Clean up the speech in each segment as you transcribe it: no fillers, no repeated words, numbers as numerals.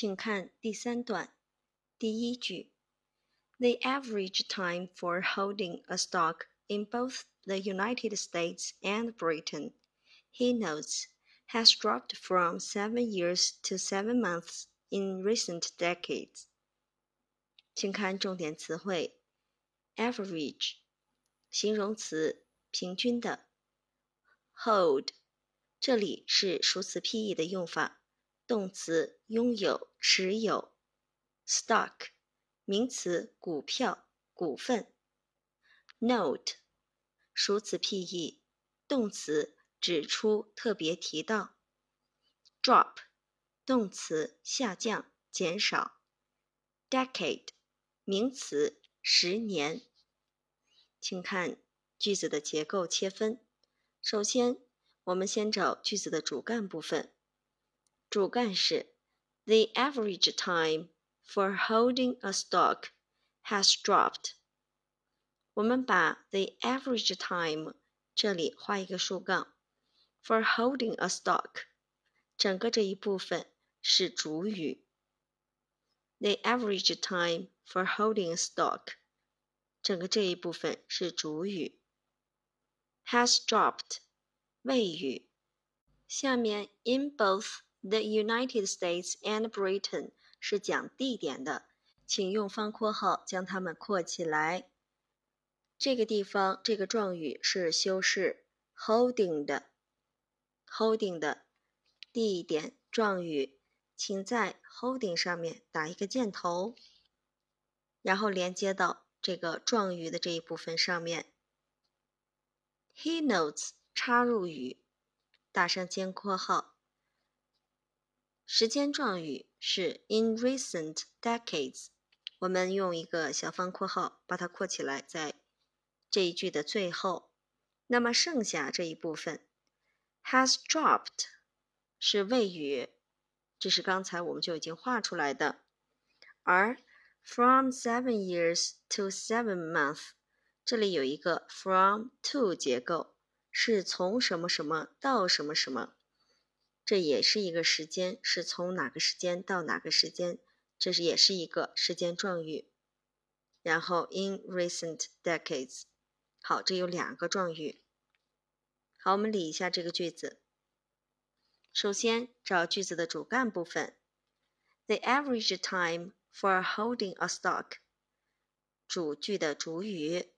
请看第3段第1句 The average time for holding a stock in both the United States and Britain, he notes, has dropped from 7 years to 7 months in recent decades. 请看重点词汇 average 形容词平均的 hold 这里是数词 PE 的用法，动词拥有持有 stock 名词股票股份 note 数词 PE 动词指出特别提到 drop 动词下降减少 decade 名词10年。请看句子的结构切分，首先我们先找句子的主干部分，主干是 The average time for holding a stock has dropped. 我们把 the average time 这里画一个竖杠 for holding a stock 整个这一部分是主语 The average time for holding a stock 整个这一部分是主语 has dropped 谓语下面 in both the United States and Britain 是讲地点的，请用方括号将它们括起来。这个地方这个状语是修饰 holding 的地点状语，请在 holding 上面打一个箭头，然后连接到这个状语的这一部分上面。He notes 插入语，打上尖括号。时间状语是 in recent decades， 我们用一个小方括号把它括起来，在这一句的最后。那么剩下这一部分 has dropped 是谓语，这是刚才我们就已经画出来的。而 from 7 years to 7 months 这里有一个 from to 结构，是从什么什么到什么什么，这也是一个时间，是从哪个时间到哪个时间，这也是一个时间状语。然后 in recent decades， 好，这有2个状语。好，我们理一下这个句子。首先找句子的主干部分 The average time for holding a stock 主句的主语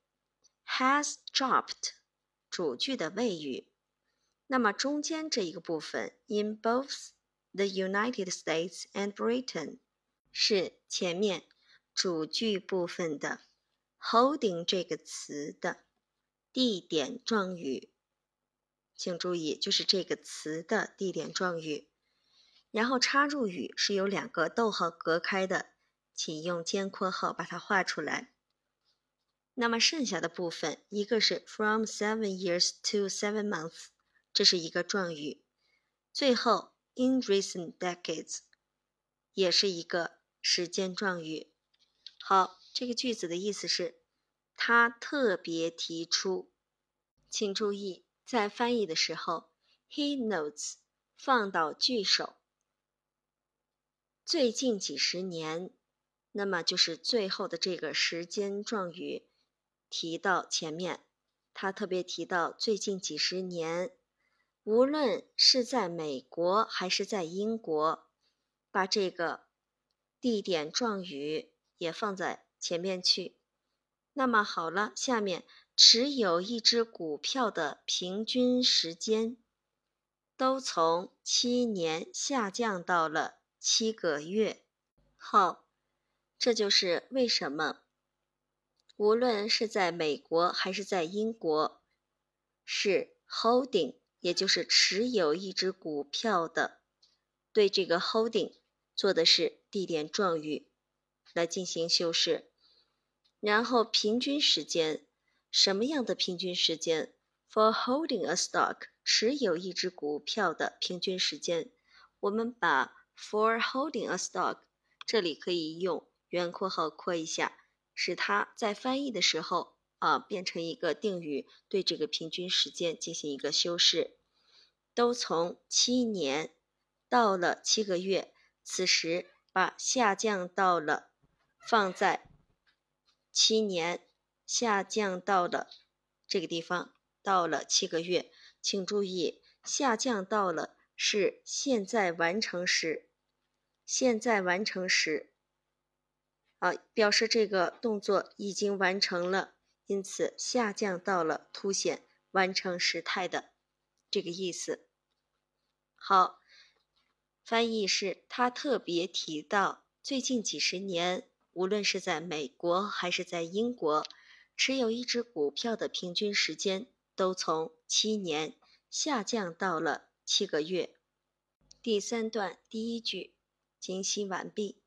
has dropped 主句的谓语。那么中间这一个部分 in both the United States and Britain 是前面主句部分的 holding 这个词的地点状语，请注意就是这个词的地点状语，然后插入语是由2个逗号隔开的，请用尖括号把它画出来。那么剩下的部分一个是 from 7 years to 7 months， 这是一个状语，最后 in recent decades 也是一个时间状语。好，这个句子的意思是他特别提出，请注意在翻译的时候 he notes 放到句首，最近几十年，那么就是最后的这个时间状语提到前面，他特别提到最近几十年，无论是在美国还是在英国，把这个地点状语也放在前面去。那么好了，下面持有一只股票的平均时间都从7年下降到了7个月。好，这就是为什么无论是在美国还是在英国，是 holding 也就是持有一只股票的，对这个 holding 做的是地点状语来进行修饰。然后平均时间，什么样的平均时间 for holding a stock 持有一只股票的平均时间，我们把 for holding a stock 这里可以用圆括号括一下，使它在翻译的时候变成一个定语，对这个平均时间进行一个修饰。都从7年到了7个月，此时把下降到了放在7年，下降到了这个地方，到了7个月。请注意，下降到了是现在完成时，现在完成时表示这个动作已经完成了，因此下降到了凸显完成时态的这个意思。好，翻译是他特别提到最近几十年，无论是在美国还是在英国，持有一只股票的平均时间都从7年下降到了7个月。第3段第1句，精析完毕。